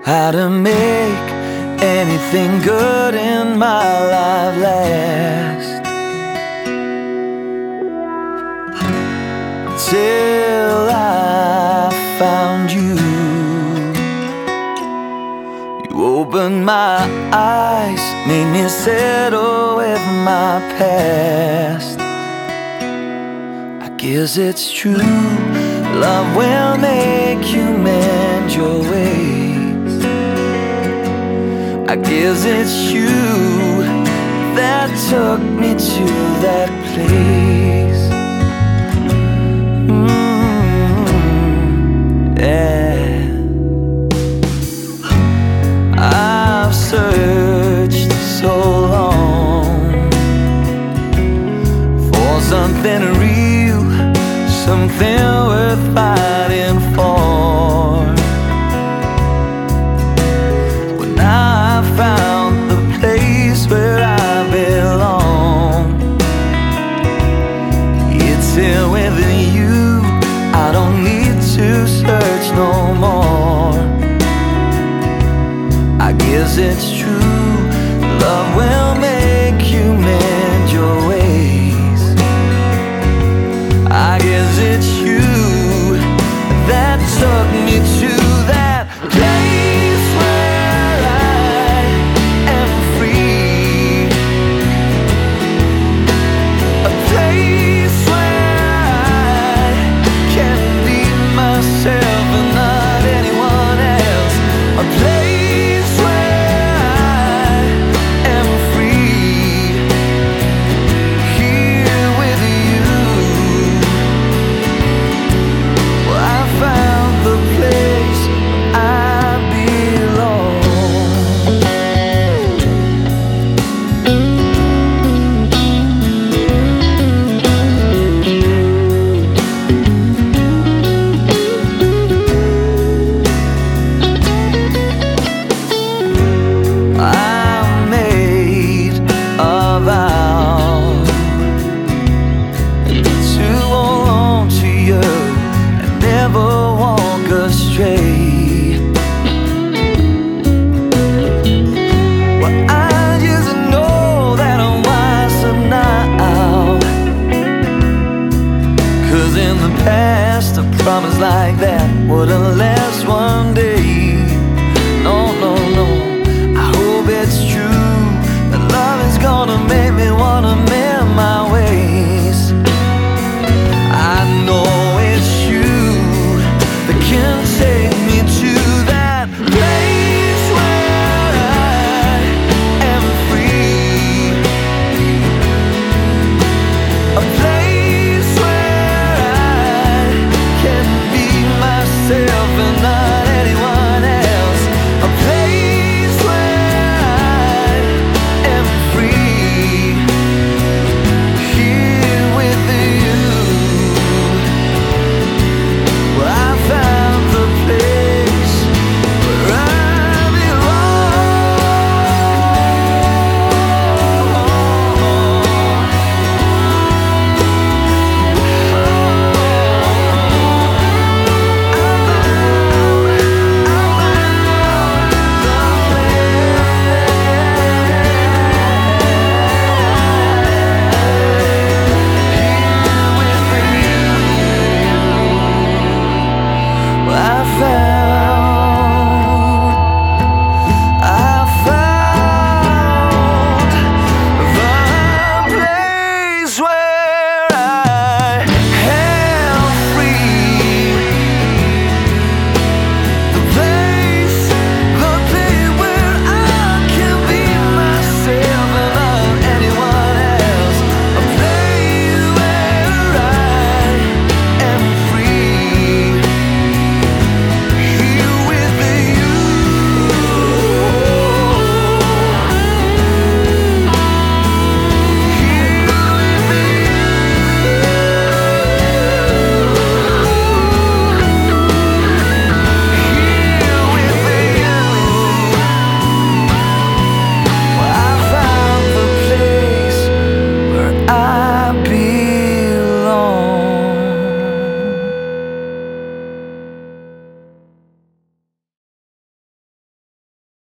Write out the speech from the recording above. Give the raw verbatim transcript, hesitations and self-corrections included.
how to make anything good in my life last, till I found you. You opened my eyes, made me settle with my past. I guess it's true, love will make you mend your ways. I guess it's you that took me to that place. Mm, yeah. I've searched so long for something real, something worth fighting for. Well, now I found the place where I belong. It's here with you, I don't need to search no more. I guess it's true, love will make